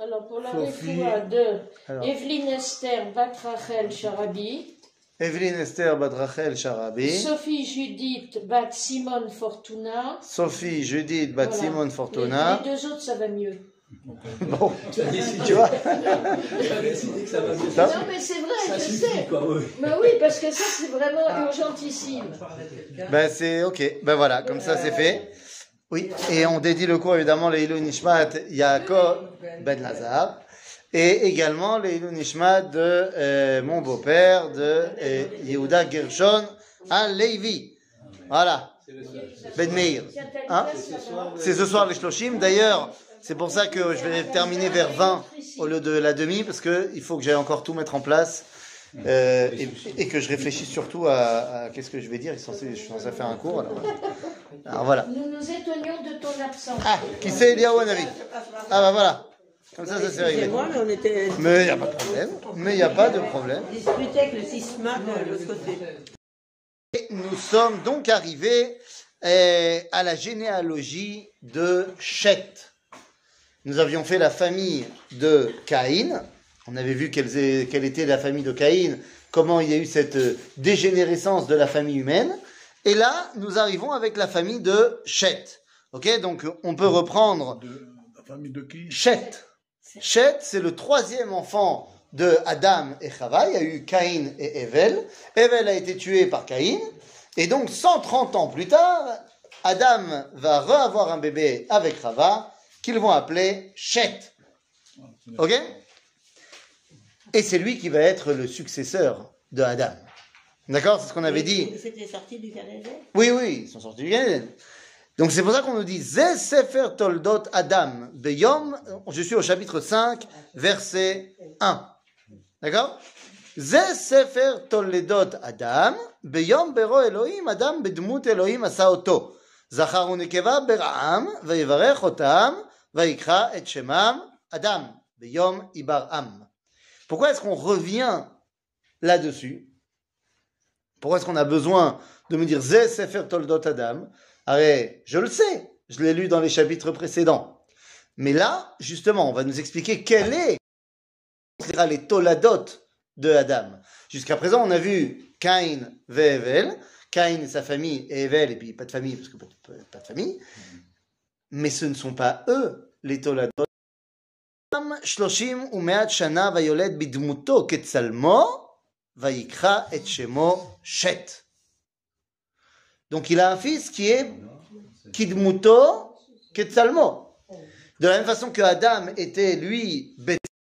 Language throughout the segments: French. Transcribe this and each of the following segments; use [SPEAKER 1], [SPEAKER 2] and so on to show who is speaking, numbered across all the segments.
[SPEAKER 1] Alors, pour la
[SPEAKER 2] Sophie.
[SPEAKER 1] réfoua de
[SPEAKER 2] Alors.
[SPEAKER 1] Evelyne Esther Bat Rachel Sharabi,
[SPEAKER 2] Evelyne Esther Bat Rachel Sharabi,
[SPEAKER 1] Sophie Judith Bat Simone Fortuna.
[SPEAKER 2] Sophie Judith Bat
[SPEAKER 1] Voilà.
[SPEAKER 2] Simone Fortuna.
[SPEAKER 1] Les deux autres, ça va mieux.
[SPEAKER 2] Bon, tu vois.
[SPEAKER 3] Tu as décidé que ça va mieux.
[SPEAKER 2] Ça
[SPEAKER 1] Non, mais c'est vrai,
[SPEAKER 3] Ça
[SPEAKER 1] je
[SPEAKER 3] suffit,
[SPEAKER 1] sais.
[SPEAKER 3] quoi, oui.
[SPEAKER 1] Mais oui, parce que ça, c'est vraiment urgentissime.
[SPEAKER 2] Ben c'est ok, ben voilà, comme ça c'est fait. Oui, et on dédie le cours évidemment les Ilou Nishmat Yaakov Ben Lazar et également les Ilou Nishmat de mon beau-père de Yehuda Gershon Alevi. Voilà, Ben Meir. Hein? C'est ce soir les Shloshim. D'ailleurs, c'est pour ça que je vais terminer vers 20 au lieu de la demi parce que il faut que j'aille encore tout mettre en place. Et que je réfléchisse surtout à qu'est-ce que je vais dire. Je suis censé faire un cours. Alors voilà.
[SPEAKER 1] Nous nous étonnions de ton absence.
[SPEAKER 2] Ah, qui c'est Eliaou Hanavi? Ah bah voilà. Comme ça c'est réglé.
[SPEAKER 4] Moi, mais on était
[SPEAKER 2] Mais il n'y a pas de problème. Mais il n'y a pas de problème.
[SPEAKER 4] disputés avec le sisma de l'autre côté.
[SPEAKER 2] Et nous sommes donc arrivés à la généalogie de Shet. Nous avions fait la famille de Caïn. On avait vu quelle était la famille de Caïn, comment il y a eu cette dégénérescence de la famille humaine. Et là, nous arrivons avec la famille de Shet. Ok, donc on peut reprendre.
[SPEAKER 5] La famille de qui?
[SPEAKER 2] Shet. Shet, c'est le troisième enfant de Adam et Chava. Il y a eu Caïn et Evel. Evel a été tué par Caïn. Et donc, 130 ans plus tard, Adam va re-avoir un bébé avec Chava, qu'ils vont appeler Shet. Ok? Et c'est lui qui va être le successeur de Adam. D'accord? C'est ce qu'on avait dit.
[SPEAKER 4] C'était sorti du Canada.
[SPEAKER 2] Oui, oui, ils sont sortis du Gan Eden. Donc c'est pour ça qu'on nous dit Ze Sefer Toldot Adam Beyom. Je suis au chapitre 5, verset 1. D'accord? Ze Sefer Toldot Adam Beyom Bero Elohim Adam Bedmut Elohim Asa Oto. Zachar u'nekeva bera'am vayivarech otam vayikra et shemam Adam Beyom Ibar'am. Pourquoi est-ce qu'on revient là-dessus? Pourquoi est-ce qu'on a besoin de me dire Ze Sefer Toldot Adam? Arrête, je le sais, je l'ai lu dans les chapitres précédents. Mais là, justement, on va nous expliquer quel est les Toladot de Adam. Jusqu'à présent, on a vu Caïn ve Evel, Caïn et sa famille, et Evel, et puis pas de famille, parce que pas de famille. Mais ce ne sont pas eux, les Toladot. 30 ומאה שנה ויולד בדמותו כצלמו ויקרא את שמו שת. Donc il a un fils qui est kidmuto ketzalmo. De la même façon que Adam était lui bet.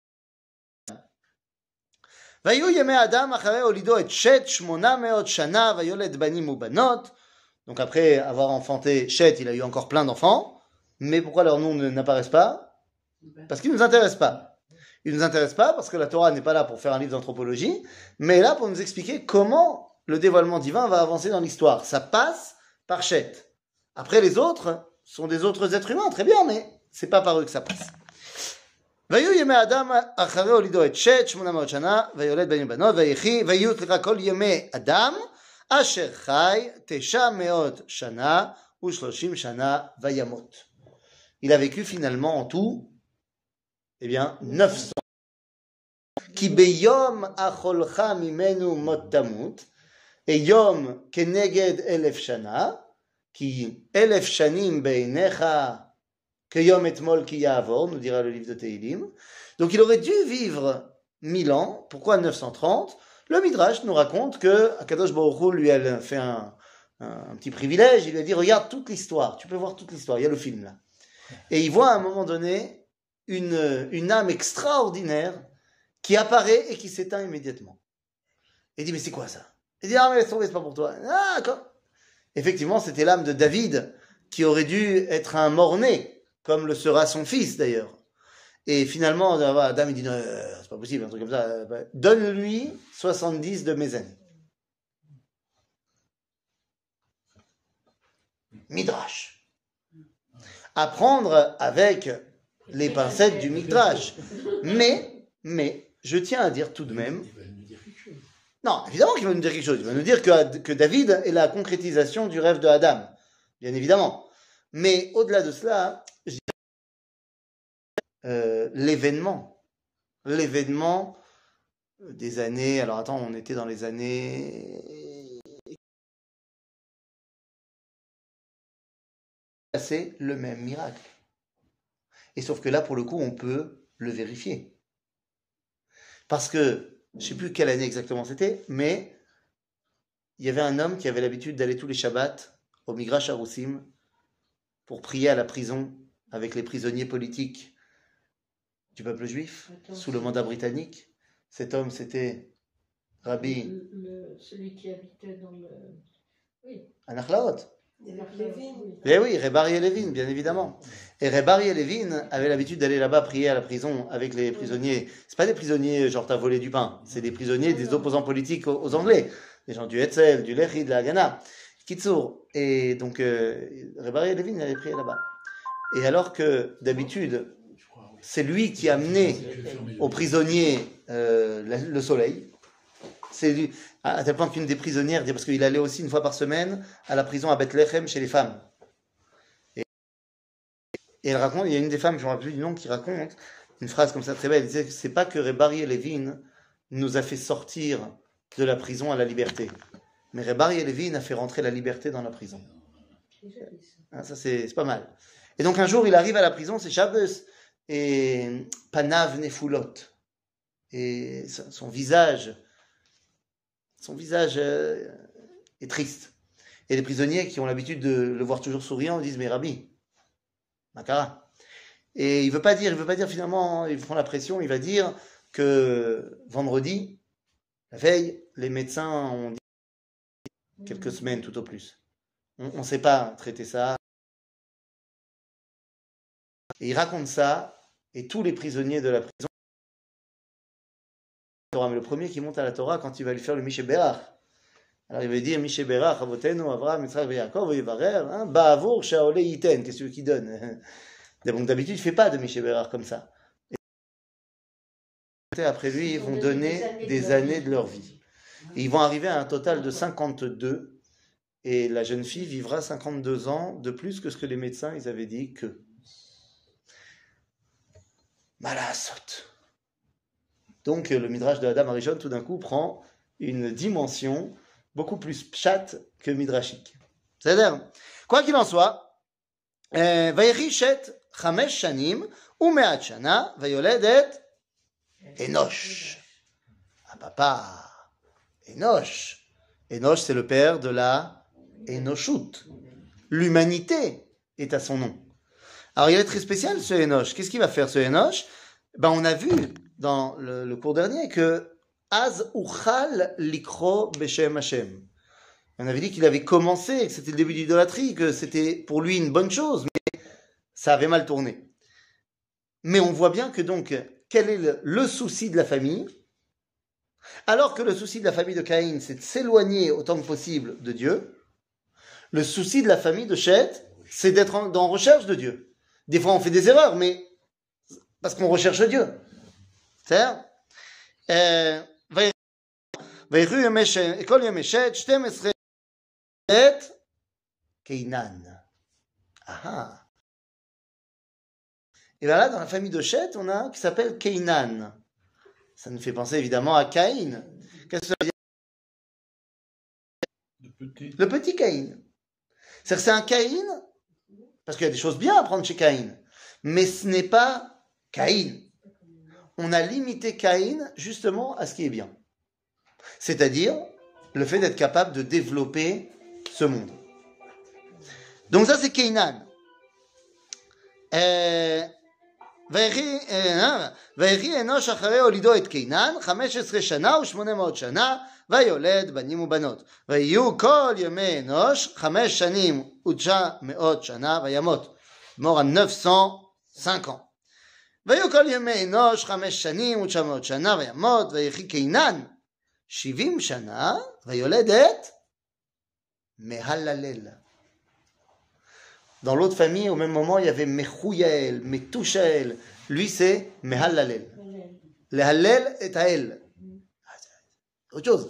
[SPEAKER 2] ויהיו ימי אדם אחרי הולידו את שת 800 שנה ויולד בנים ובנות. Donc après avoir enfanté Shet, il a eu encore plein d'enfants. Mais pourquoi leurs noms n'apparaissent pas? Parce qu'ils ne nous intéressent pas. Ils ne nous intéressent pas parce que la Torah n'est pas là pour faire un livre d'anthropologie, mais là pour nous expliquer comment le dévoilement divin va avancer dans l'histoire. Ça passe par Shet. Après, les autres sont des autres êtres humains, très bien, mais c'est pas par eux que ça passe. ויהיו ימי אדם אחרי הולידו את שת 800 שנה ויולד בנים ובנות ויהיו כל ימי אדם אשר חי 900 שנה ו30 שנה וימות. Il a vécu finalement en tout, eh bien, 900. כי ביום אכולך ממנו מות תמות, et יום כנגד 1000 שנה, כי 1000 שנים בעיניך כיום אתמול כי יעבור, nous dira le livre de Tehillim. Donc il aurait dû vivre 1000 ans. Pourquoi 930? Le Midrash nous raconte que Akadosh Baruch Hu lui a fait un petit privilège. Il lui a dit, regarde toute l'histoire, tu peux voir toute l'histoire, il y a le film là. Et il voit à un moment donné une âme extraordinaire qui apparaît et qui s'éteint immédiatement. Il dit, mais c'est quoi ça? Il dit, ah mais laisse tomber, c'est pas pour toi. Ah, d'accord. Effectivement, c'était l'âme de David qui aurait dû être un mort-né, comme le sera son fils d'ailleurs. Et finalement, Adam il dit, non, c'est pas possible, un truc comme ça. Donne-lui 70 de mes années. Midrash. Apprendre avec les pincettes du Midrash. Mais, je tiens à dire tout de même. Non, évidemment qu'il va nous dire quelque chose. Il va nous dire que David est la concrétisation du rêve de Adam. Bien évidemment. Mais au-delà de cela, l'événement des années, alors attends, on était dans les années, c'est le même miracle. Et sauf que là, pour le coup, on peut le vérifier. Parce que, je ne sais plus quelle année exactement c'était, mais il y avait un homme qui avait l'habitude d'aller tous les Shabbats au Migrash Haroussim pour prier à la prison avec les prisonniers politiques du peuple juif sous le mandat britannique. Cet homme, c'était Rabbi
[SPEAKER 1] celui qui habitait dans le... Oui.
[SPEAKER 2] Anachlaot.
[SPEAKER 1] Lévin.
[SPEAKER 2] Eh oui, Rebari et Levin, bien évidemment. Et Rebari et Levin avaient l'habitude d'aller là-bas prier à la prison avec les prisonniers. C'est pas des prisonniers genre t'as volé du pain, c'est des prisonniers des opposants politiques aux Anglais. Des gens du Hetzel, du Lehi, de la Haganah. Kitsour. Et donc, Rebari et Levin allaient prier là-bas. Et alors que, d'habitude, c'est lui qui amenait aux prisonniers le soleil. C'est lui, à tel point qu'une des prisonnières, parce qu'il allait aussi une fois par semaine à la prison à Bethléem chez les femmes. Et elle raconte, il y a une des femmes, je ne me rappelle plus du nom, qui raconte une phrase comme ça très belle. Elle disait que c'est pas que Rebari et Levin nous a fait sortir de la prison à la liberté, mais Rebari et Levin a fait rentrer la liberté dans la prison. Ça c'est pas mal. Et donc un jour il arrive à la prison, c'est Shabbos, et Panav Nefulot, et son visage est triste. Et les prisonniers qui ont l'habitude de le voir toujours souriant disent mais Rabbi, Makara. Et il veut pas dire finalement, ils font la pression, il va dire que vendredi, la veille, les médecins ont dit quelques semaines tout au plus. On ne sait pas traiter ça. Et il raconte ça, et tous les prisonniers de la prison, mais le premier qui monte à la Torah quand il va lui faire le Mishe Berach. Alors il va dire Mishe Berach, Avotenu, Avraham, Yitzhak, Yaakov, Yevarer, Ba'avur, Shaole, Yiten, qu'est-ce qu'il donne? Donc d'habitude, il ne fait pas de Mishe Berach comme ça. Et après lui, ils vont donner des années de leur vie. Et ils vont arriver à un total de 52, et la jeune fille vivra 52 ans de plus que ce que les médecins ils avaient dit que. Malasot. Donc le Midrash de Adam Arishon tout d'un coup prend une dimension beaucoup plus pshat que midrashique. C'est-à-dire, quoi qu'il en soit, Vayechi shet chamesh shanim umeat shana vayoled et Enosh. Ah papa, Enosh. Enosh c'est le père de la Enoshut. L'humanité est à son nom. Alors il est très spécial ce Enosh. Qu'est-ce qu'il va faire ce Enosh? On a vu dans le cours dernier que Az uchal likro beshem Hashem. On avait dit qu'il avait commencé, que c'était le début de l'idolâtrie, que c'était pour lui une bonne chose, mais ça avait mal tourné. Mais on voit bien que donc, quel est le souci de la famille? Alors que le souci de la famille de Caïn, c'est de s'éloigner autant que possible de Dieu, le souci de la famille de Shet, c'est d'être en recherche de Dieu. Des fois on fait des erreurs, mais parce qu'on recherche Dieu. C'est-à-dire, Ah. Et bien là, dans la famille de Shet, on a un qui s'appelle Keinan. Ça nous fait penser évidemment à Caïn. Qu'est-ce que ça veut dire? Le petit Caïn. C'est-à-dire que c'est un Caïn, parce qu'il y a des choses bien à prendre chez Caïn, mais ce n'est pas Caïn. On a limité Caïn justement à ce qui est bien. C'est-à-dire le fait d'être capable de développer ce monde. Donc ça c'est Keinan. ויחי אנוש אחרי הולידו את קינן 15 שנה ו800 שנה ויולד בנים ובנות ויהיו כל ימי אנוש 5 שנים ו900 שנה וימות. mort à 905 ans. ויהיו כל ימי אנוש 5 שנים ו900 שנה וימות ויחי קינן 70 שנה ויולד את מהללל. Dans l'autre famille, au même moment, il y avait Mechouyael, Metouchael. Lui, c'est Mehallalel. Le Hallel est à elle. Autre chose.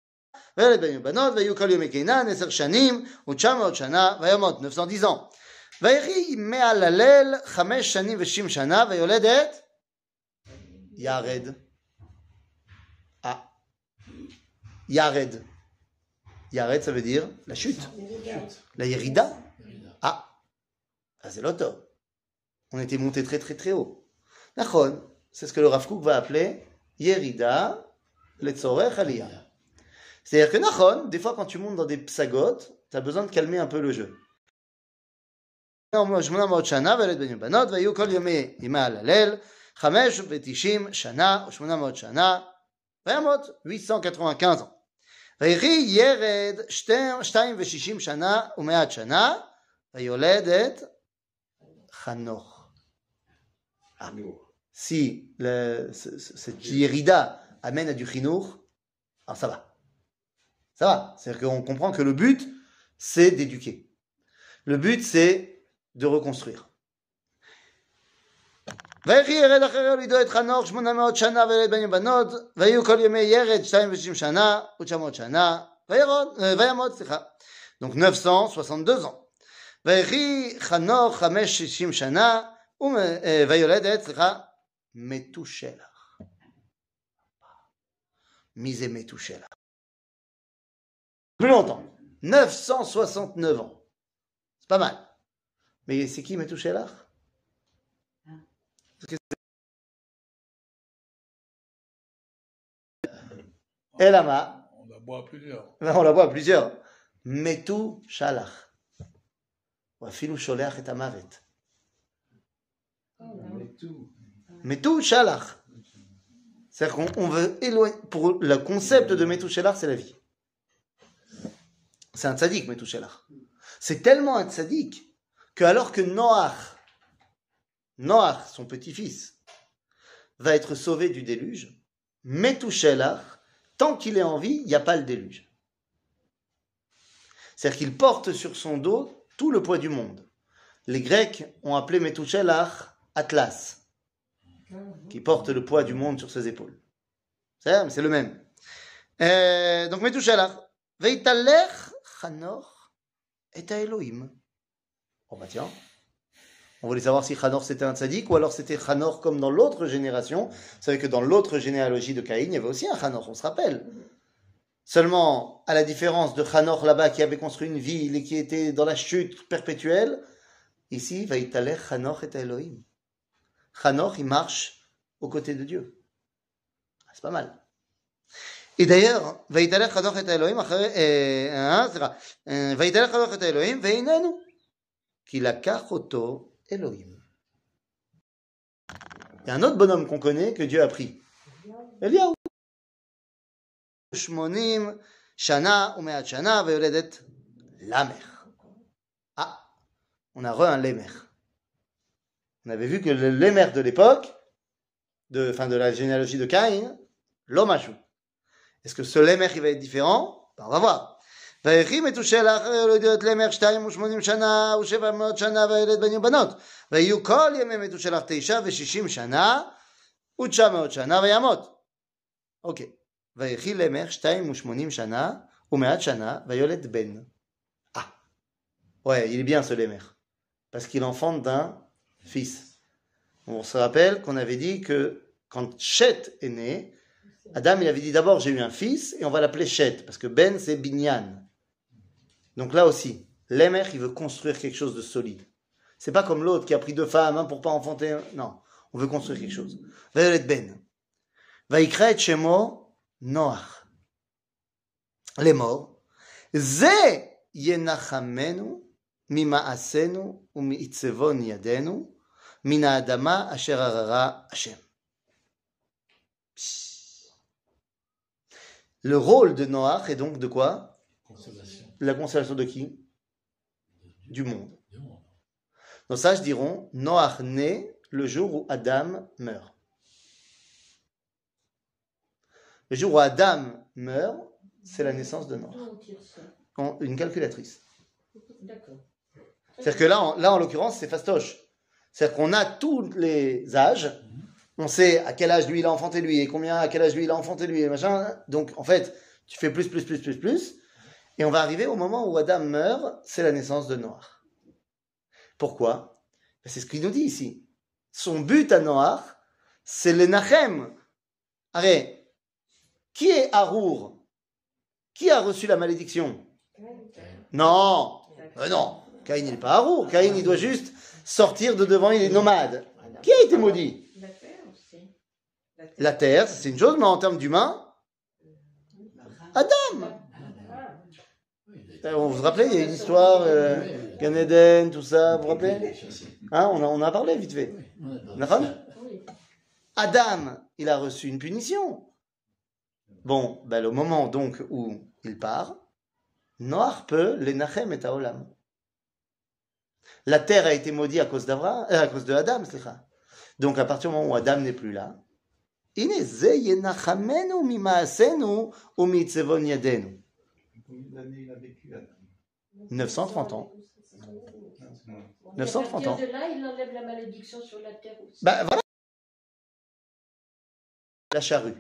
[SPEAKER 2] וילד בנים ובנות, ויהיו כל ימי קינן 10 שנים ו900 שנה וימות. 910 ans. ויהי מהללל 5 שנים ו60 שנה, ויולדת ירד. Yared. Yared, ça veut dire la chute. La Yerida. Ah, c'est l'auto. On était monté très très très haut. Nachon, c'est ce que le Rav Kook va appeler Yerida letzorech aliyah. C'est-à-dire que Nachon, des fois quand tu montes dans des psagotes, tu as besoin de calmer un peu le jeu. 800 שנה וילד בנים ובנות, והיו כל ימי הלל 590 שנה ו800 שנה, וימות 895 ans. ויהי ירד 260 שנה ו100 שנה, ויולד את חנוך. Si cette Yerida amène à du chinour, alors ça va. Ça va. C'est-à-dire qu'on comprend que le but, c'est d'éduquer. Le but, c'est de reconstruire. ויהי ירד אחרי הולידו את חנוך 800 שנה וילד בנים ובנות, והיו כל ימי ירד 260 שנה ו900 שנה, וימות, donc 962 ans. ויהי חנוך 560 שנה, ויולדת, מתושלח. מי זה מתושלח? Plus longtemps, 969 ans. C'est pas mal. Mais c'est qui Metouchelach? Elama.
[SPEAKER 3] On la boit à plusieurs.
[SPEAKER 2] On la boit à plusieurs. Metouchelach. Ou afilou sholeach et amavet. Metouchelach. C'est-à-dire qu'on veut éloigner. Pour le concept de Metouchelach, c'est la vie. C'est un tzaddik, Metouchelach. C'est tellement un tzaddik que alors que Noach, son petit-fils, va être sauvé du déluge, Metouchelach, tant qu'il est en vie, il n'y a pas le déluge. C'est-à-dire qu'il porte sur son dos tout le poids du monde. Les Grecs ont appelé Metouchelach Atlas, qui porte le poids du monde sur ses épaules. C'est le même. Donc Metouchelach, Veitalech Chanoch et à Elohim. Oh bah tiens, on voulait savoir si Chanor c'était un tzaddik ou alors c'était Chanor comme dans l'autre génération. Vous savez que dans l'autre généalogie de Caïn, il y avait aussi un Chanor, on se rappelle. Seulement, à la différence de Chanor là-bas qui avait construit une ville et qui était dans la chute perpétuelle, ici, Vaïtalech Chanor et à Elohim. Chanor, il marche aux côtés de Dieu. C'est pas mal. Et d'ailleurs, Vaïtalech Chanor et à Elohim, Vaïtalech Chanor et à Elohim, Veinenu. Qui la kachoto Elohim. Il y a un autre bonhomme qu'on connaît que Dieu a pris. Eliaou. Shmonim shana umeat shana veyoledet lamer. Ah, on a un lémer. On avait vu que le lémer de l'époque, de la généalogie de Caïn, l'hommachou. Est-ce que ce lémer il va être différent? Ben, on va voir. ויהי מתושלח הולידו את למר 280 שנה ו700 שנה וילד בנים ובנות ויהיו כל ימי מתושלח 960 שנה ו900 שנה וימות. אוקיי. ויהי למר 280 שנה ו100 שנה ויולד בן. Ah. Ouais, il est bien ce lémer. Parce qu'il enfante d'un fils. On se rappelle qu'on avait dit que quand Chet est né, Adam il avait dit d'abord j'ai eu un fils et on va l'appeler Chet parce que Ben c'est Binyan. Donc là aussi, l'émer, il veut construire quelque chose de solide. C'est pas comme l'autre qui a pris 2 femmes pour pas enfanter. Non, on veut construire quelque chose. Vayolet ben. Vaikra et shemo Noach. Les morts. Ze yenachamenu mima'asenu umi'itzevon yadenu min ha'adama asher arara Hashem. Le rôle de Noach est donc de quoi?
[SPEAKER 3] Consolation.
[SPEAKER 2] La consolation de qui? Du monde. Nos sages diront Noach naît le jour où Adam meurt. Le jour où Adam meurt, c'est la naissance de Noach. Une calculatrice.
[SPEAKER 1] D'accord.
[SPEAKER 2] C'est-à-dire que là, en l'occurrence, c'est fastoche. C'est-à-dire qu'on a tous les âges. On sait à quel âge lui il a enfanté lui et combien à quel âge lui il a enfanté lui et machin. Donc en fait, tu fais plus. Et on va arriver au moment où Adam meurt, c'est la naissance de Noach. Pourquoi? C'est ce qu'il nous dit ici. Son but à Noach, c'est le Nachem. Allez, qui est Harour? Qui a reçu la malédiction? Non, non. Caïn, il n'est pas Harour. Caïn, il doit juste sortir de devant, il est nomade. Qui a été maudit?
[SPEAKER 1] La terre aussi.
[SPEAKER 2] La terre, c'est une chose, mais en termes d'humain, Adam. Vous vous rappelez, il y a une histoire, Gan Eden, tout ça, vous vous rappelez? Hein, on en a parlé vite fait. D'accord?
[SPEAKER 1] Oui.
[SPEAKER 2] Adam, il a reçu une punition. Bon, ben, au moment donc où il part, Noach peut l'enachem et haolam. La terre a été maudite à cause à cause de Adam, donc à partir du moment où Adam n'est plus là, הנה זה ינחמנו ממעשינו ומצבון ידינו.
[SPEAKER 3] Combien d'années il a vécu, Adam?
[SPEAKER 2] 930 ans. 930
[SPEAKER 1] Et à
[SPEAKER 2] ans.
[SPEAKER 1] partir de là, il enlève la malédiction sur la terre aussi.
[SPEAKER 2] Ben voilà. La charrue.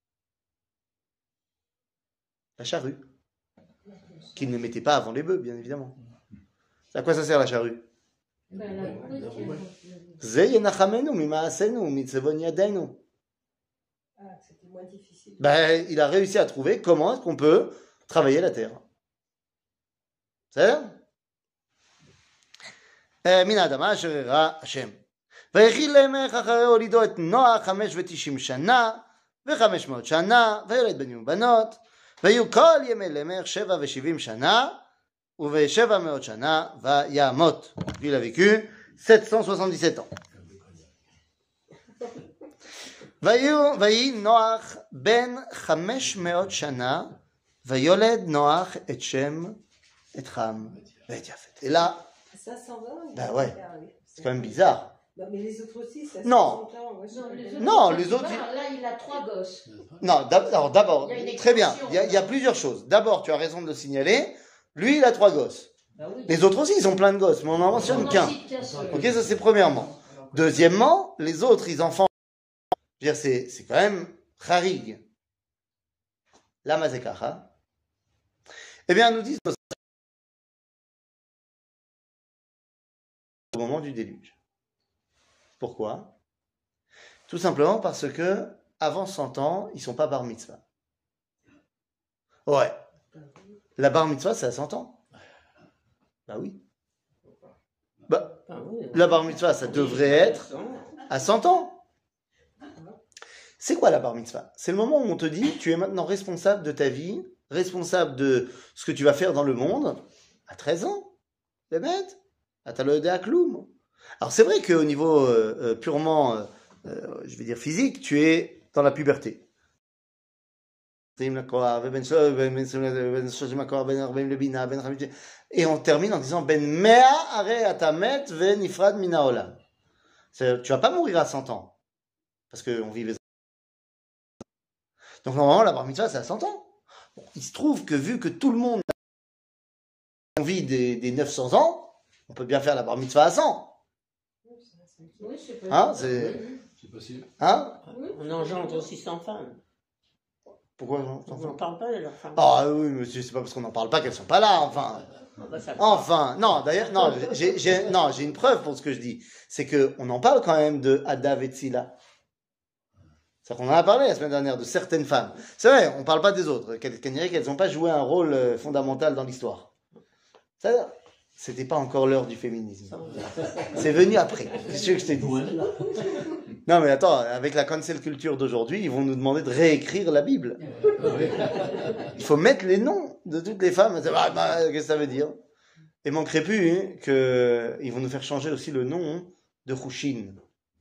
[SPEAKER 2] La charrue. Qu'il ne mettait pas avant les bœufs, bien évidemment. À quoi ça sert la charrue?
[SPEAKER 1] Ben, la brute,
[SPEAKER 2] זה ינחמנו ממעשינו ומצבון ידינו.
[SPEAKER 4] Ah, c'était moins difficile.
[SPEAKER 2] Ben, il a réussi à trouver comment est-ce qu'on peut travailler la terre. C'est מן האדמה אשר הראה השם. ויחיל למלך אחרי הולידו את נוח 590 שנה ו500 שנה וילד בנים ובנות ויהיו כל ימי למלך 770 שנה וב700 שנה וימות. Il a vécu 777 ans. ויהי נוח בן 500 שנה ויולד נוח את שם, את חם ואת יפת. Et là,
[SPEAKER 4] 520
[SPEAKER 2] ben ouais, c'est quand même bizarre.
[SPEAKER 4] Non, mais les autres aussi, ça
[SPEAKER 2] Non. Non, les autres,
[SPEAKER 1] Là, il a 3 gosses.
[SPEAKER 2] Non, d'abord,
[SPEAKER 1] Il y a une
[SPEAKER 2] très bien,
[SPEAKER 1] extension.
[SPEAKER 2] il y a plusieurs choses. D'abord, tu as raison de le signaler, lui, il a 3 gosses.
[SPEAKER 1] Ben oui.
[SPEAKER 2] Les autres aussi, ils ont plein de gosses, mais on n'en
[SPEAKER 1] On
[SPEAKER 2] mentionne
[SPEAKER 1] en
[SPEAKER 2] qu'un.
[SPEAKER 1] cite qu'un seul.
[SPEAKER 2] Ok, ça c'est premièrement. Deuxièmement, les autres, ils enfants, je veux dire, c'est quand même charig. La mazekacha. Eh bien, nous disent au moment du déluge. Pourquoi? Tout simplement parce que avant 100 ans, ils sont pas bar mitzvah. Ouais. La bar mitzvah, c'est à 100 ans. Bah oui. Bah, la bar mitzvah, ça devrait être à 100 ans. C'est quoi la bar mitzvah? C'est le moment où on te dit, tu es maintenant responsable de ta vie, responsable de ce que tu vas faire dans le monde, à 13 ans. C'est bête. Alors c'est vrai qu'au niveau purement, je vais dire physique, tu es dans la puberté. Et on termine en disant Ben mea are atamet ve nifrad mina olam. Tu vas pas mourir à 100 ans parce qu'on vit les. Donc normalement la bar mitzvah c'est à 100 ans. Bon, il se trouve que vu que tout le monde vit des 900 ans, on peut bien faire la bar mitzvah à 100.
[SPEAKER 1] Oui, c'est possible.
[SPEAKER 2] Hein, c'est
[SPEAKER 3] possible.
[SPEAKER 2] Hein?
[SPEAKER 4] On engendre aussi 100 femmes.
[SPEAKER 2] Pourquoi non?
[SPEAKER 4] On n'en parle pas de leurs femmes.
[SPEAKER 2] Ah oui, monsieur, c'est pas parce qu'on n'en parle pas qu'elles sont pas là, enfin. Enfin, non, d'ailleurs, non, j'ai une preuve pour ce que je dis. C'est que on en parle quand même de Adav et Tzila. C'est-à-dire qu'on en a parlé la semaine dernière de certaines femmes. C'est vrai, on parle pas des autres. Qu'elles n'ont pas joué un rôle fondamental dans l'histoire. C'est-à-dire, c'était pas encore l'heure du féminisme. C'est venu après. C'est ce que je t'ai dit. Non, mais attends, avec la cancel culture d'aujourd'hui, ils vont nous demander de réécrire la Bible. Il faut mettre les noms de toutes les femmes. Qu'est-ce que ça veut dire? Et manquerait plus qu'ils vont nous faire changer aussi le nom de Hushin.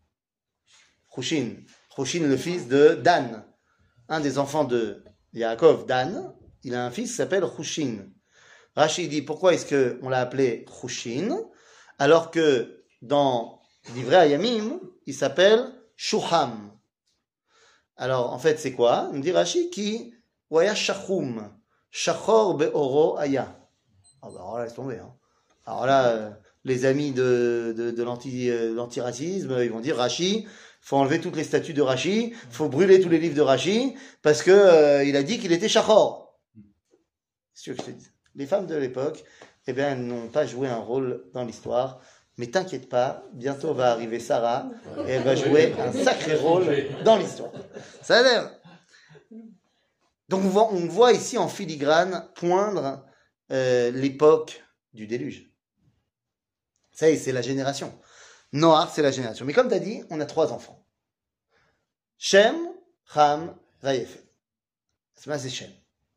[SPEAKER 2] Hushin, le fils de Dan. Un des enfants de Yaakov, Dan, il a un fils qui s'appelle Hushin. Rashi dit pourquoi est-ce qu'on l'a appelé Hushin alors que dans Divrei Hayamim, il s'appelle Shuham. Alors en fait c'est quoi? Il me dit Rashi qui Waya Shachum, Shachor Be'oro Aya. Ah bah alors là laisse tomber. Hein. Alors là les amis de l'antiracisme ils vont dire Rashi, faut enlever toutes les statues de Rashi, faut brûler tous les livres de Rashi parce que il a dit qu'il était Shachor. C'est ce que je te dis. Les femmes de l'époque, eh bien, elles n'ont pas joué un rôle dans l'histoire, Mais t'inquiète pas, bientôt va arriver Sarah et elle va jouer un sacré rôle dans l'histoire. Ça a l'air. Donc on voit ici en filigrane poindre l'époque du déluge. Ça y est, c'est la génération. Noach, c'est la génération. Mais comme tu as dit, on a 3 enfants. Shem, Ham, Vayefet. C'est Shem.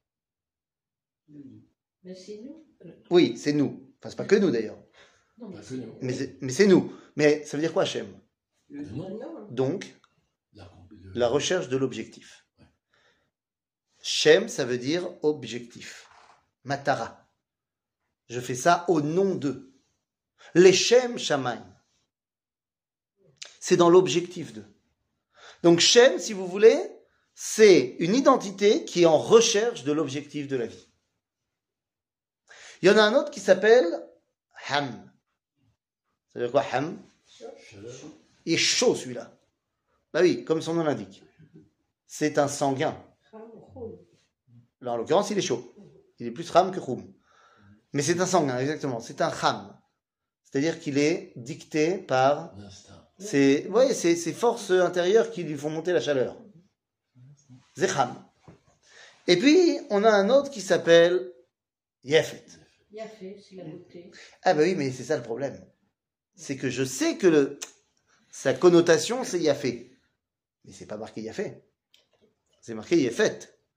[SPEAKER 1] Mais c'est nous.
[SPEAKER 2] Oui, c'est nous. Enfin, c'est pas que nous d'ailleurs.
[SPEAKER 1] Non, mais
[SPEAKER 3] Pas que
[SPEAKER 1] c'est
[SPEAKER 3] nous.
[SPEAKER 2] Mais c'est nous. Mais ça veut dire quoi, Shem?
[SPEAKER 3] Non.
[SPEAKER 2] Donc,
[SPEAKER 3] La-
[SPEAKER 2] la recherche de l'objectif. Shem, ça veut dire objectif. Matara. Je fais ça au nom d'eux. Les Shem Shamaim. C'est dans l'objectif d'eux. Donc Shem, si vous voulez, c'est une identité qui est en recherche de l'objectif de la vie. Il y en a un autre qui s'appelle Ham. Ça veut dire quoi, Ham?
[SPEAKER 3] Chaleur.
[SPEAKER 2] Il est chaud celui-là. Bah oui, comme son nom l'indique. C'est un sanguin. Là, en l'occurrence, il est chaud. Il est plus Ram que Khoum. Mais c'est un sanguin, exactement. C'est un Ham. C'est-à-dire qu'il est dicté par
[SPEAKER 3] L'instinct.
[SPEAKER 2] ces forces intérieures qui lui font monter la chaleur. C'est Ham. Et puis, on a un autre qui s'appelle Yefet.
[SPEAKER 1] Il a fait, c'est la beauté.
[SPEAKER 2] Ah bah oui, mais c'est ça le problème. C'est que je sais que sa connotation, c'est Yafé. Mais c'est pas marqué Yafé. C'est marqué Yefet.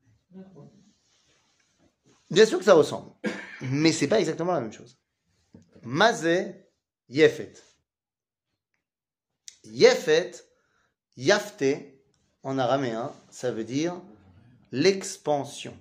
[SPEAKER 2] Bien sûr que ça ressemble. Mais c'est pas exactement la même chose. Mazé, Yefet. Yefet, Yafté, en araméen, ça veut dire l'expansion.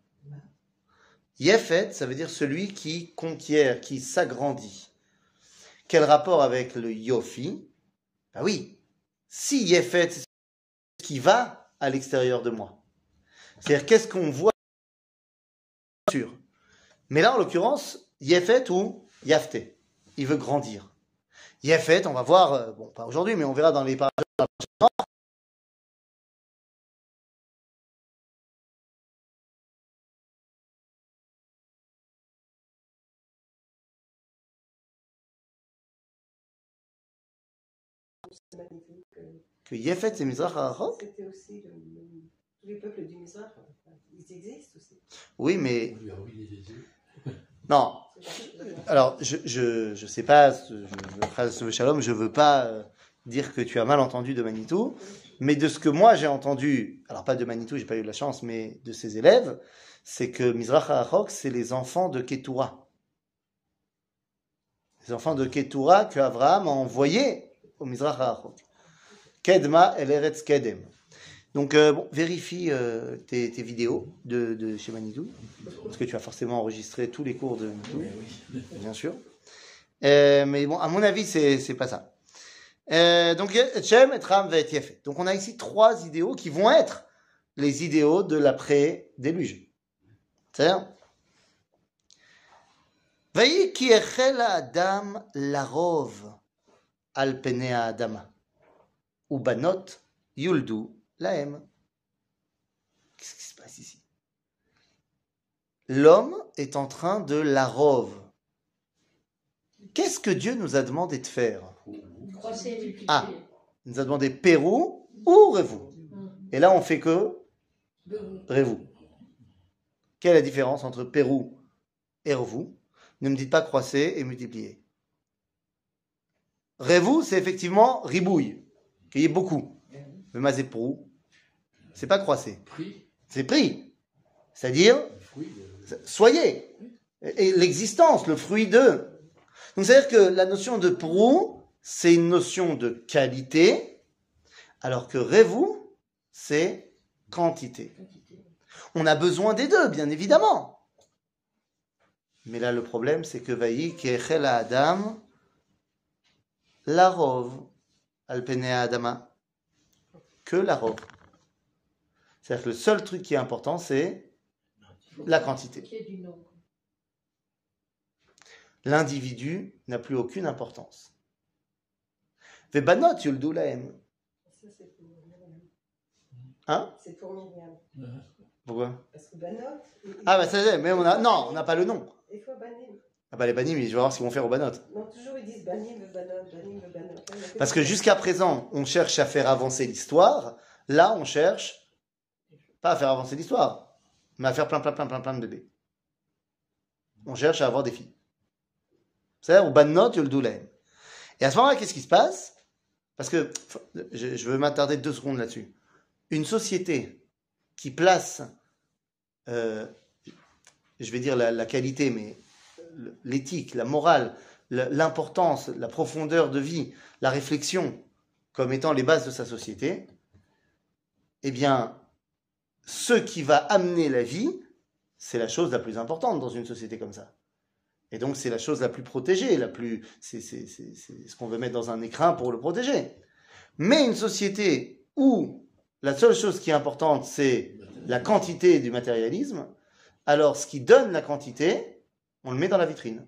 [SPEAKER 2] Yefet, ça veut dire celui qui conquiert, qui s'agrandit. Quel rapport avec le Yofi? Ah oui, si Yefet, c'est ce qui va à l'extérieur de moi. C'est-à-dire, qu'est-ce qu'on voit sur. Mais là, en l'occurrence, Yefet ou Yafté. Il veut grandir. Yefet, on va voir, bon, pas aujourd'hui, mais on verra dans les paragraphes.
[SPEAKER 4] C'est magnifique.
[SPEAKER 2] Que Yefet, c'est Mizrach HaRachok.
[SPEAKER 4] C'était aussi tous les peuples du Mizrach. Ils existent aussi.
[SPEAKER 2] Oui, mais
[SPEAKER 3] On lui a ruiné les yeux.
[SPEAKER 2] non. Alors, je sais pas, Shalom, je veux pas dire que tu as mal entendu de Manitou, mais de ce que moi j'ai entendu, alors pas de Manitou, j'ai pas eu de la chance, mais de ses élèves, c'est que Mizrach HaRachok, c'est les enfants de Ketura. Les enfants de Ketura que Abraham a envoyés au Mizrach HaRachok. Kedma el Eretz Kedem. Donc, bon, vérifie tes vidéos de chez Manitou, parce que tu as forcément enregistré tous les cours de Manitou, bien sûr. Mais bon, à mon avis, c'est pas ça. Donc, Shem, Etram, Vet, Yefet. Donc, on a ici 3 idéaux qui vont être les idéaux de l'après-déluge. C'est-à-dire, Vayi ki echel Adam larov al penei Adama, ubanot yuldu lahem. Qu'est-ce qui se passe ici? L'homme est en train de larov. Qu'est-ce que Dieu nous a demandé de faire?
[SPEAKER 1] Croissez et multipliez.
[SPEAKER 2] Ah. Il nous a demandé Pérou ou Révou. Et là, on fait que Révou. Quelle est la différence entre Pérou et Révou? Ne me dites pas croisser et multiplier. Révou, c'est effectivement ribouille, qu'il y ait beaucoup. Mais mazéprou, c'est pas croisser.
[SPEAKER 3] Pris,
[SPEAKER 2] C'est pris. C'est-à-dire,
[SPEAKER 3] le fruit
[SPEAKER 2] soyez. Et l'existence, le fruit de. Donc, c'est-à-dire que la notion de prou, c'est une notion de qualité, alors que révou, c'est quantité. On a besoin des deux, bien évidemment. Mais là, le problème, c'est que Vayi Kechel Adam Larov al penei Adama. Que Larov. C'est-à-dire que le seul truc qui est important, c'est la quantité.
[SPEAKER 1] Qu'il y ait du nombre.
[SPEAKER 2] L'individu n'a plus aucune importance. Vebanot yuldu lahem.
[SPEAKER 4] Ça, c'est pour Myriam.
[SPEAKER 2] Hein?
[SPEAKER 4] C'est pour Myriam.
[SPEAKER 2] Pourquoi?
[SPEAKER 4] Parce que Banot.
[SPEAKER 2] Ah, bah ça y est, mais on n'a pas le nom.
[SPEAKER 4] Il faut Banim.
[SPEAKER 2] Ah bah les banim, je vais voir ce qu'ils vont faire aux banot.
[SPEAKER 4] Non, toujours ils disent banim, banot, banim, banot.
[SPEAKER 2] Parce que jusqu'à présent, on cherche à faire avancer l'histoire. Là, on cherche pas à faire avancer l'histoire, mais à faire plein de bébés. On cherche à avoir des filles. C'est-à-dire, au banot, le doulem. Et à ce moment-là, qu'est-ce qui se passe? Parce que je veux m'attarder 2 secondes là-dessus. Une société qui place, je vais dire la qualité, mais l'éthique, la morale, l'importance, la profondeur de vie, la réflexion comme étant les bases de sa société, eh bien, ce qui va amener la vie, c'est la chose la plus importante dans une société comme ça. Et donc, c'est la chose la plus protégée, c'est ce qu'on veut mettre dans un écrin pour le protéger. Mais une société où la seule chose qui est importante, c'est la quantité du matérialisme, alors ce qui donne la quantité, on le met dans la vitrine.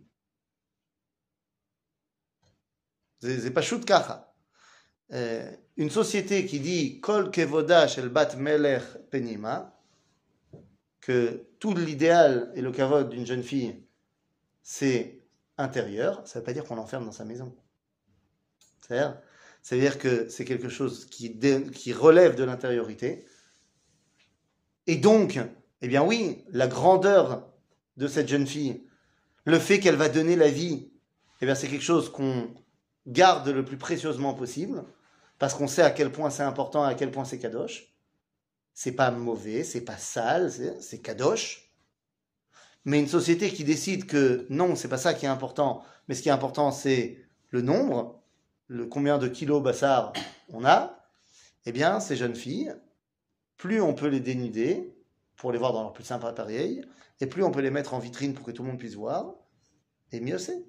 [SPEAKER 2] C'est pas shoot kacha. Une société qui dit Kol kevoda shel bat melech penima, que tout l'idéal et le kavod d'une jeune fille, c'est intérieur, ça ne veut pas dire qu'on l'enferme dans sa maison. C'est-à-dire que c'est quelque chose qui relève de l'intériorité. Et donc, eh bien oui, la grandeur de cette jeune fille, le fait qu'elle va donner la vie, eh bien c'est quelque chose qu'on garde le plus précieusement possible, parce qu'on sait à quel point c'est important, à quel point c'est kadosh. C'est pas mauvais, c'est pas sale, c'est kadosh. Mais une société qui décide que non, c'est pas ça qui est important, mais ce qui est important, c'est le nombre, combien de kilos bassar on a, eh bien, ces jeunes filles, plus on peut les dénuder pour les voir dans leur plus simple appareil, et plus on peut les mettre en vitrine pour que tout le monde puisse voir, et mieux c'est.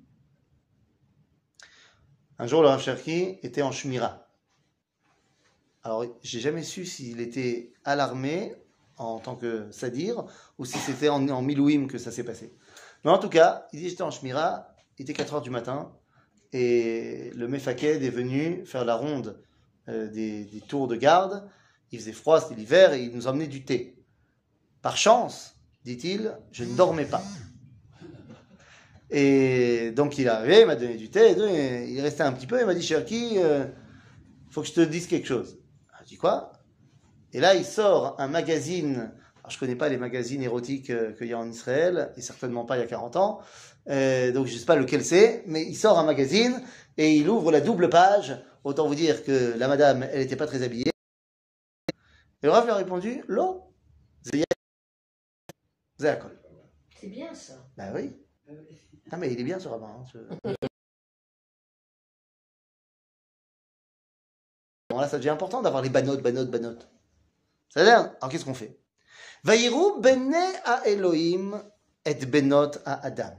[SPEAKER 2] Un jour, le Rav Cherki était en Shmira. Alors, j'ai jamais su s'il était alarmé en tant que sadir, ou si c'était en milouim que ça s'est passé. Mais en tout cas, il dit, j'étais en Shmira, il était 4h du matin, et le Mefaked est venu faire la ronde des tours de garde. Il faisait froid, c'était l'hiver, et il nous emmenait du thé. Par chance, dit-il, je ne dormais pas. Et donc il est arrivé, il m'a donné du thé, et il restait un petit peu, il m'a dit, Cherki, faut que je te dise quelque chose. Je dis quoi? Et là, il sort un magazine. Alors, je connais pas les magazines érotiques qu'il y a en Israël, et certainement pas il y a 40 ans. Donc, je sais pas lequel c'est, mais il sort un magazine et il ouvre la double page. Autant vous dire que la madame, elle était pas très habillée. Et le Rav lui a répondu, Lo, Zéakol.
[SPEAKER 1] C'est bien ça.
[SPEAKER 2] Ben oui. Ah, mais il est bien ce rabbin. Bon, là, ça devient important d'avoir les banotes. C'est-à-dire, alors qu'est-ce qu'on fait? Vayiru bene a Elohim et benot a Adam.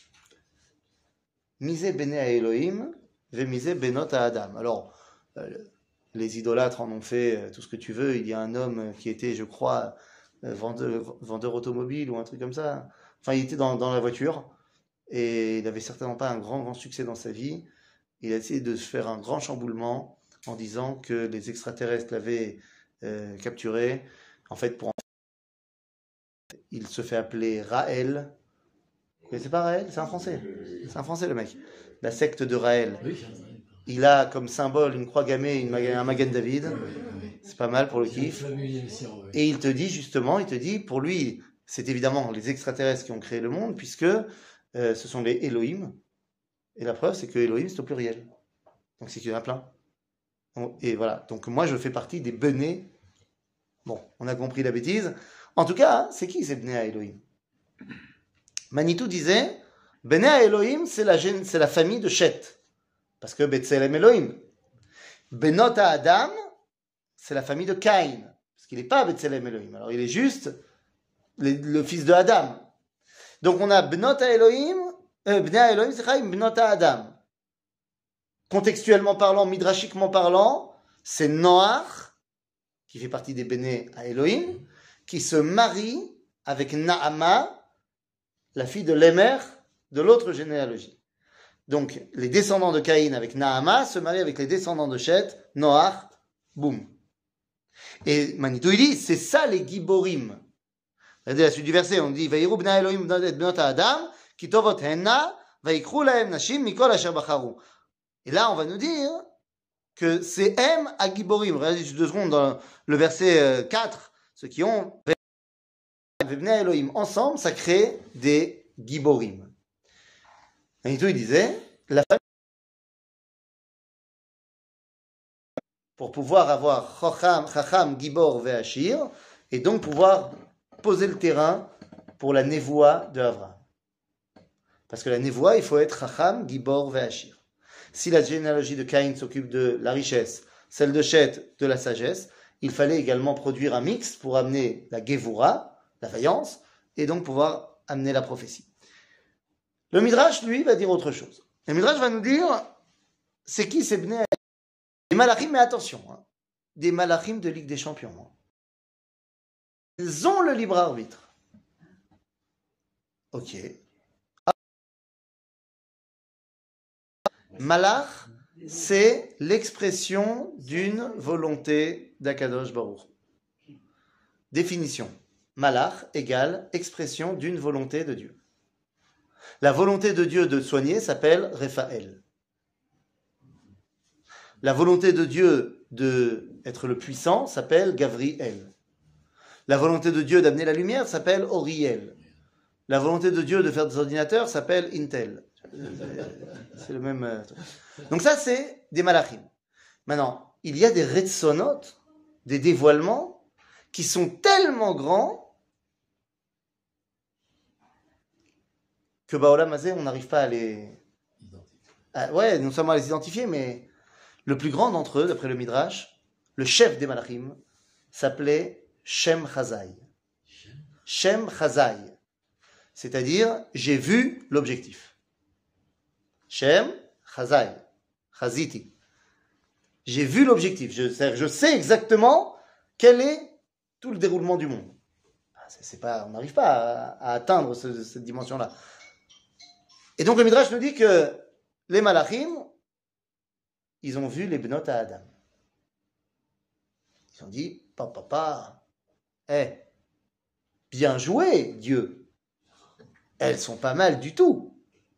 [SPEAKER 2] Mise bene a Elohim, ve mise benot a Adam. Alors, les idolâtres en ont fait tout ce que tu veux. Il y a un homme qui était, je crois, vendeur automobile ou un truc comme ça. Enfin, il était dans la voiture et il n'avait certainement pas un grand succès dans sa vie. Il a essayé de se faire un grand chamboulement en disant que les extraterrestres l'avaient capturé. En fait, il se fait appeler Raël. Vous connaissez pas Raël? C'est un Français. C'est un Français, le mec. La secte de Raël. Il a comme symbole une croix gammée, un Magen David. C'est pas mal pour le kiff. Et il te dit justement, pour lui, c'est évidemment les extraterrestres qui ont créé le monde, puisque ce sont les Elohim. Et la preuve, c'est que Elohim, c'est au pluriel. Donc c'est qu'il y en a plein. Et voilà. Donc moi, je fais partie des benés. Bon, on a compris la bêtise. En tout cas, c'est qui ces benés à Elohim? Manitou disait, benés à Elohim, c'est la famille de Shet. Parce que Betselem Elohim. Benot à Adam, c'est la famille de Caïn. Parce qu'il n'est pas Betselem Elohim. Alors il est juste le fils de Adam. Donc on a Benot à Elohim, Bnei à Elohim, c'est Chaim, Benot à Adam. Contextuellement parlant, midrashiquement parlant, c'est Noach, qui fait partie des Béné à Elohim, qui se marie avec Naama, la fille de Lémer, de l'autre généalogie. Donc, les descendants de Caïn avec Naama se marient avec les descendants de Shet, Noach, boum. Et Manitou, il dit, c'est ça les Giborim. Regardez la suite du verset, on dit, Vayiru b'nai Elohim et b'not Adam, כי טובות הנה, ויקחו להם נשים מכל אשר בחרו. Et là, on va nous dire que c'est M à Giborim. Regardez 2 secondes dans le verset 4. Ceux qui ont Vebnei Elohim ensemble, ça crée des Giborim. Manitou, il disait, la famille, pour pouvoir avoir Chacham, Gibor, Ve'ashir, et donc pouvoir poser le terrain pour la névoie de Avraham. Parce que la névoie, il faut être Chacham, Gibor, Ve'ashir. Si la généalogie de Caïn s'occupe de la richesse, celle de Shet de la sagesse, il fallait également produire un mix pour amener la Gevura, la vaillance, et donc pouvoir amener la prophétie. Le Midrash, lui, va dire autre chose. Le Midrash va nous dire, c'est qui ces Bnei? Des malachim, mais attention, hein, des malachim de Ligue des Champions. Hein. Ils ont le libre arbitre. Ok. Malach, c'est l'expression d'une volonté d'Akadosh Baruch. Définition. Malach égale expression d'une volonté de Dieu. La volonté de Dieu de soigner s'appelle Rephaël. La volonté de Dieu d'être le puissant s'appelle Gavriel. La volonté de Dieu d'amener la lumière s'appelle Oriel. La volonté de Dieu de faire des ordinateurs s'appelle Intel. C'est le même truc. Donc ça, c'est des malachim. Maintenant, il y a des retsonot, des dévoilements, qui sont tellement grands que Baolam Hazé, on n'arrive pas à les... ouais, non seulement à les identifier, mais le plus grand d'entre eux, d'après le Midrash, le chef des malachim, s'appelait Shem Chazai. Shem Chazai. C'est-à-dire, j'ai vu l'objectif. Shem Chazai. Chaziti. J'ai vu l'objectif. Je sais exactement quel est tout le déroulement du monde. C'est pas, on n'arrive pas à atteindre cette dimension-là. Et donc le Midrash nous dit que les malachim, ils ont vu les benot à Adam. Ils ont dit, papa, bien joué, Dieu. Elles sont pas mal du tout.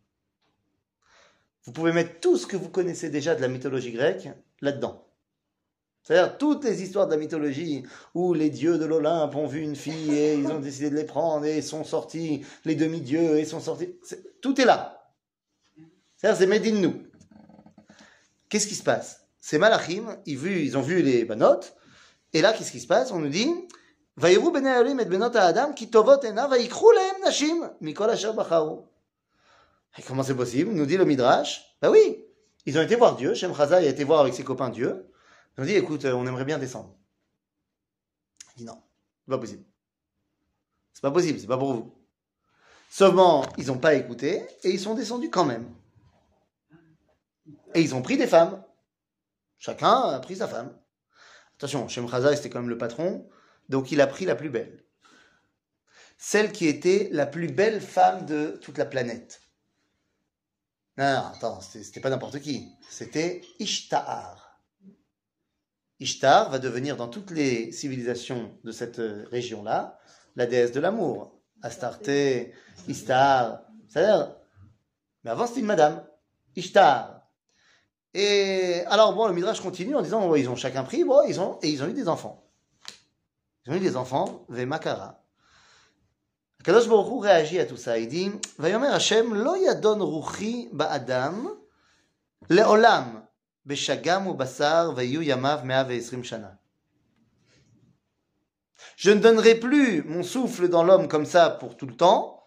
[SPEAKER 2] Vous pouvez mettre tout ce que vous connaissez déjà de la mythologie grecque là-dedans. C'est-à-dire toutes les histoires de la mythologie où les dieux de l'Olympe ont vu une fille et ils ont décidé de les prendre et sont sortis, les demi-dieux et sont sortis. Tout est là. C'est-à-dire c'est made in nous. Qu'est-ce qui se passe? Ces malachim, ils ont vu les banot, et là, qu'est-ce qui se passe? On nous dit Vayeru bnei Elohim et benot Adam ki tovot ena vayikru lehem nashim mikol asher bacharu. Et comment c'est possible? Nous dit le Midrash. Ben oui, ils ont été voir Dieu. Shem Chazai a été voir avec ses copains Dieu. Ils ont dit, écoute, on aimerait bien descendre. Il dit non, c'est pas possible. C'est pas possible, c'est pas pour vous. Seulement, ils n'ont pas écouté et ils sont descendus quand même. Et ils ont pris des femmes. Chacun a pris sa femme. Attention, Shem Chazai c'était quand même le patron, donc il a pris la plus belle. Celle qui était la plus belle femme de toute la planète. Non, attends, c'était pas n'importe qui. C'était Ishtar. Ishtar va devenir dans toutes les civilisations de cette région-là la déesse de l'amour. Astarté, Ishtar, c'est-à-dire... Mais avant, c'était une madame. Ishtar. Et alors, bon, le Midrash continue en disant, ils ont chacun pris, bon, ils ont eu des enfants. Ils ont eu des enfants, Vemakara. Kadosh Baruch Hu réagit à tout ça. Il dit, Vayomer Hashem, lo yadon ruchi ba'adam, le'olam, beshagam u basar, vayu yamav 120 shana. Je ne donnerai plus mon souffle dans l'homme comme ça pour tout le temps.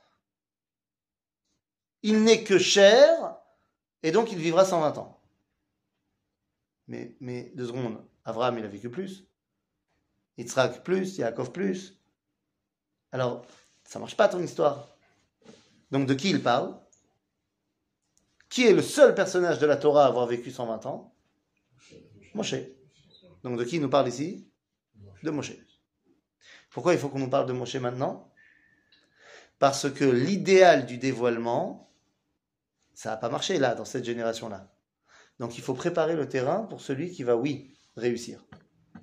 [SPEAKER 2] Il n'est que chair, et donc il vivra 120 ans. Mais 2 secondes, Avraham il a vécu plus, Yitzhak plus, Yaakov plus. Alors, ça marche pas ton histoire. Donc de qui il parle? Qui est le seul personnage de la Torah à avoir vécu 120 ans? Moshe. Donc de qui il nous parle ici? De Moshe. Pourquoi il faut qu'on nous parle de Moshe maintenant? Parce que l'idéal du dévoilement, ça n'a pas marché là, dans cette génération-là. Donc il faut préparer le terrain pour celui qui va, oui, réussir.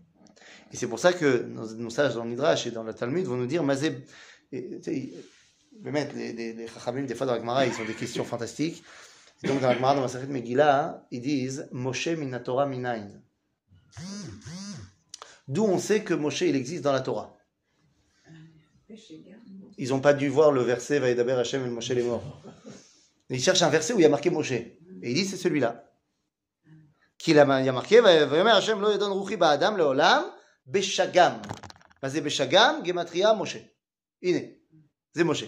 [SPEAKER 2] Et c'est pour ça que nos sages dans le Midrash et dans le Talmud vont nous dire, Mazé, il באמת, les Chachamim, des fois dans la Gemara, ils ont des questions fantastiques. Et donc dans la Gemara, dans Masechet Megillah, ils disent Moshe min Torah minayin. D'où on sait que Moshe, il existe dans la Torah. Ils n'ont pas dû voir le verset Vaïdaber Hashem el Moshe les morts. Ils cherchent un verset où il y a marqué Moshe. Et ils disent c'est celui-là. Il y a marqué Vaïdaber Hashem lo yedon ruchi ba'adam leolam beshagam. C'est beshagam, gematria, Moshe. Ine. C'est Moshe.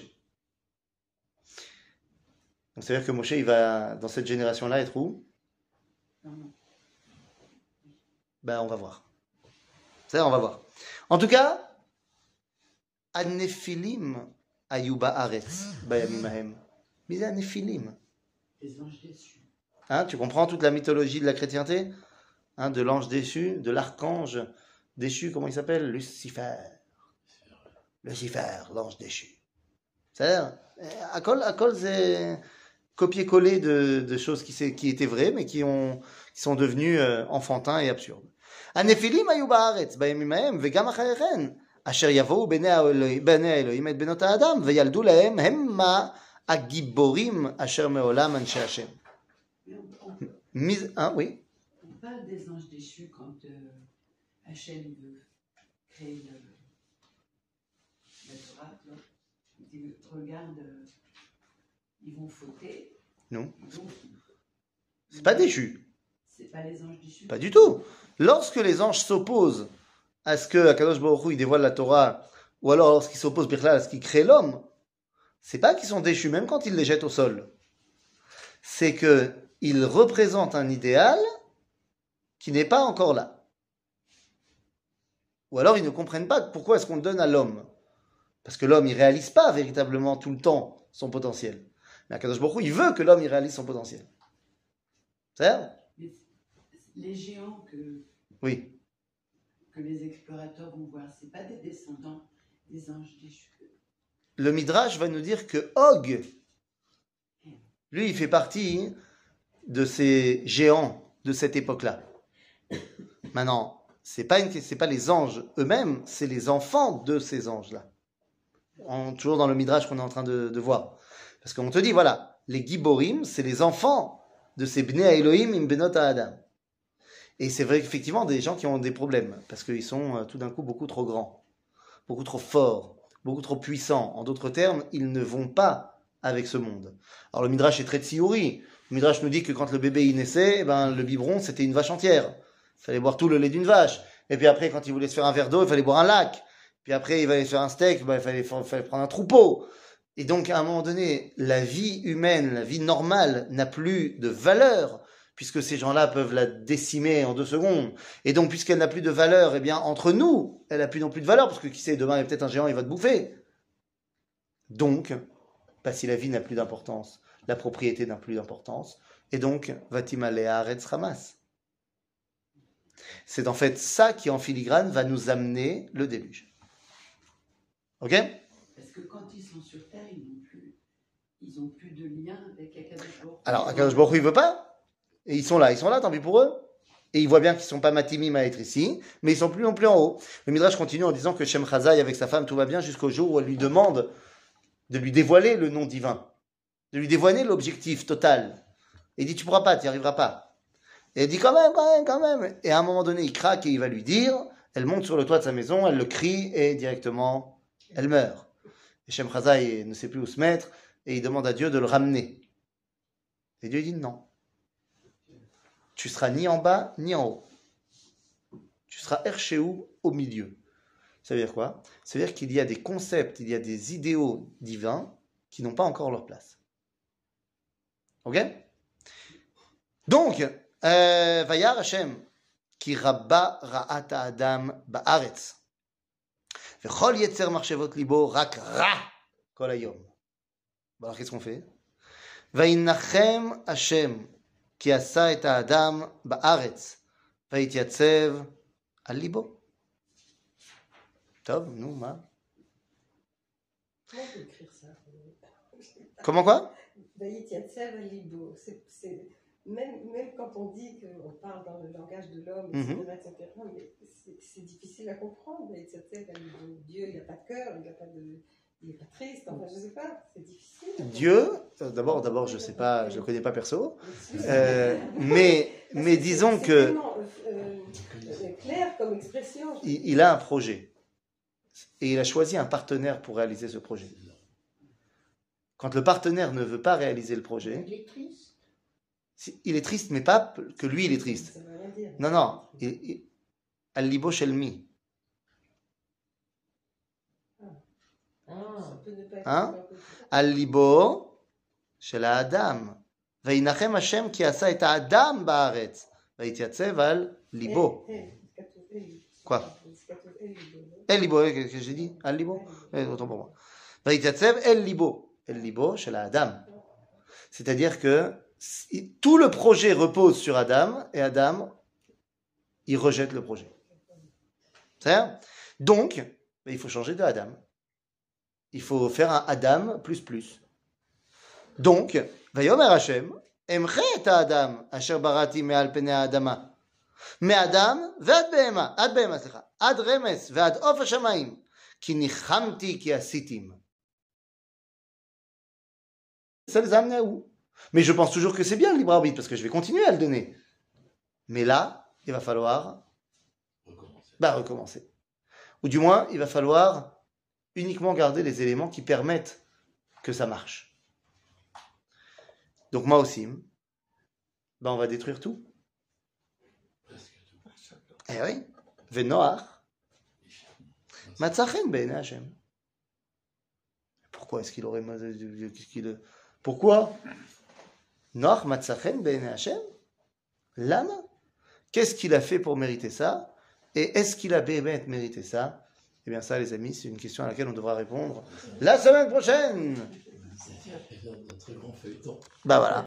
[SPEAKER 2] Donc c'est-à-dire que Moshe, il va, dans cette génération-là, être où? Ben, on va voir. C'est-à-dire, on va voir. En tout cas, An-Nephilim ayuba aretz bayamim hahem. Mais c'est An-Nephilim.
[SPEAKER 3] Les anges déçus.
[SPEAKER 2] Hein, tu comprends toute la mythologie de la chrétienté, hein, de l'ange déçu, de l'archange déchu, comment il s'appelle? Lucifer. Lucifer, l'ange déchu. C'est-à-dire, à col, c'est copier-coller de choses qui étaient vraies, mais qui sont devenues enfantins et absurdes. הנפילים היו בארץ בימים ההם וגם אחריכן אשר יבואו בני האלוהים את בנות האדם וילדו להם המה הגיבורים אשר מעולם אנשי השם. Oui.
[SPEAKER 5] On parle des anges déchus quand Hachem veut créer la Torah. Il dit, regarde, ils vont fauter.
[SPEAKER 2] Non. C'est pas déchu.
[SPEAKER 5] C'est pas les anges déchus.
[SPEAKER 2] Pas du tout. Lorsque les anges s'opposent à ce que Akadosh Baruch Hu il dévoile la Torah, ou alors lorsqu'ils s'opposent Birklal à ce qu'il crée l'homme, c'est pas qu'ils sont déchus, même quand ils les jettent au sol. C'est qu'ils représentent un idéal qui n'est pas encore là. Ou alors ils ne comprennent pas pourquoi est-ce qu'on le donne à l'homme. Parce que l'homme, il réalise pas véritablement tout le temps son potentiel. Mais Akadosh Baruch Hu, il veut que l'homme, il réalise son potentiel. C'est ça?
[SPEAKER 5] Les géants
[SPEAKER 2] Oui.
[SPEAKER 5] que les explorateurs vont voir, c'est pas des descendants des anges déchus.
[SPEAKER 2] Le Midrash va nous dire que Og, lui, il fait partie de ces géants de cette époque-là. Maintenant, c'est pas les anges eux-mêmes, c'est les enfants de ces anges-là. Toujours dans le Midrash qu'on est en train de voir. Parce qu'on te dit, voilà, les Giborim, c'est les enfants de ces Bnei Elohim im Benot Adam. Et c'est vrai effectivement des gens qui ont des problèmes, parce qu'ils sont tout d'un coup beaucoup trop grands, beaucoup trop forts, beaucoup trop puissants. En d'autres termes, ils ne vont pas avec ce monde. Alors le Midrash est très tsiouri. Le Midrash nous dit que quand le bébé y naissait, le biberon c'était une vache entière. Il fallait boire tout le lait d'une vache. Et puis après, quand il voulait se faire un verre d'eau, il fallait boire un lac. Puis après, il fallait faire un steak, il fallait prendre un troupeau. Et donc à un moment donné, la vie humaine, la vie normale n'a plus de valeur, puisque ces gens-là peuvent la décimer en 2 secondes. Et donc, puisqu'elle n'a plus de valeur, eh bien, entre nous, elle n'a plus non plus de valeur, parce que qui sait, demain, il y a peut-être un géant, il va te bouffer. Donc, si la vie n'a plus d'importance, la propriété n'a plus d'importance, et donc, Vatimale Haaretz Hamas. C'est en fait ça qui, en filigrane, va nous amener le déluge. Ok?
[SPEAKER 5] Parce que quand ils sont sur Terre, ils n'ont plus de lien avec Akadosh Baruch Hu.
[SPEAKER 2] Alors, Akadosh Baruch Hu, il veut pas. Et ils sont là, tant pis pour eux. Et ils voient bien qu'ils ne sont pas matimim à être ici, mais ils ne sont plus non plus en haut. Le Midrash continue en disant que Shem Chazai, avec sa femme, tout va bien jusqu'au jour où elle lui demande de lui dévoiler le nom divin, de lui dévoiler l'objectif total. Et il dit, tu ne pourras pas, tu n'y arriveras pas. Et elle dit, quand même. Et à un moment donné, il craque et il va lui dire, elle monte sur le toit de sa maison, elle le crie et directement, elle meurt. Et Shem Chazai ne sait plus où se mettre et il demande à Dieu de le ramener. Et Dieu dit non. Tu seras ni en bas, ni en haut. Tu seras Erchéou au milieu. Ça veut dire quoi? Ça veut dire qu'il y a des concepts, il y a des idéaux divins qui n'ont pas encore leur place. Ok? Donc, Vayar Hashem, ki rabba ra'at ha'adam ba'aretz. V'chol yetzer marshevot libo rak ra kol hayom. Alors, qu'est-ce qu'on fait? Vayinachem Hashem, כי עשה את האדם בארץ, והתייצב על ליבו. טוב, נו, מה?
[SPEAKER 4] Comment on peut écrire ça?
[SPEAKER 2] Comment quoi?
[SPEAKER 4] Vayityatzeb al libo. Même quand on dit qu'on parle dans le langage de l'homme, etc., mais c'est difficile à comprendre. Vayityatzeb al libo. Dieu, il n'a pas de cœur, il n'a pas de... il est pas triste, enfin, je sais pas, c'est difficile.
[SPEAKER 2] Dieu, d'abord, je sais pas, je le connais pas perso, mais disons
[SPEAKER 4] C'est
[SPEAKER 2] que
[SPEAKER 4] tellement, clair comme expression.
[SPEAKER 2] il a un projet et il a choisi un partenaire pour réaliser ce projet. Quand le partenaire ne veut pas réaliser le projet,
[SPEAKER 1] Il est triste.
[SPEAKER 2] il est triste, mais pas que lui il est triste.
[SPEAKER 4] Ça veut rien dire.
[SPEAKER 2] Non, al-libo shelmi.
[SPEAKER 1] Ah.
[SPEAKER 4] Ça peut ne pas être
[SPEAKER 2] Hein?
[SPEAKER 4] de leur côté.
[SPEAKER 2] al-libo shel האדם. וינחם השם כי עשה את האדם בארץ. ויתייצב על ליבו. Quoi? El libo, qu'est-ce que j'ai dit? Al libo? Autant pour moi. ויתייצב el libo. El libo shel האדם. C'est-à-dire que tout le projet repose sur Adam et Adam, il rejette le projet. C'est-à-dire? Donc, il faut changer de Adam. Il faut faire un Adam plus plus. Donc, ויאמר השם, אמחה את האדם אשר בראתי מעל פני האדמה. מאדם ועד בהמה, עד רמס ועד עוף השמיים, כי ניחמתי כי עשיתים. Ça les a amenés à où? Mais je pense toujours que c'est bien le libre arbitre, parce que je vais continuer à le donner. Mais là, il va falloir recommencer. Ou du moins, il va falloir uniquement garder les éléments qui permettent que ça marche. Donc, Maosim, on va détruire tout. Eh oui. Venoach, Matzachen ben Hashem. Pourquoi est-ce qu'il aurait... Pourquoi? Noach Matzachen ben Hashem? Lama? Qu'est-ce qu'il a fait pour mériter ça? Et est-ce qu'il a bémet mérité ça? Eh bien ça, les amis, c'est une question à laquelle on devra répondre la semaine prochaine.
[SPEAKER 3] C'est un très grand feuilleton.
[SPEAKER 2] Bah voilà.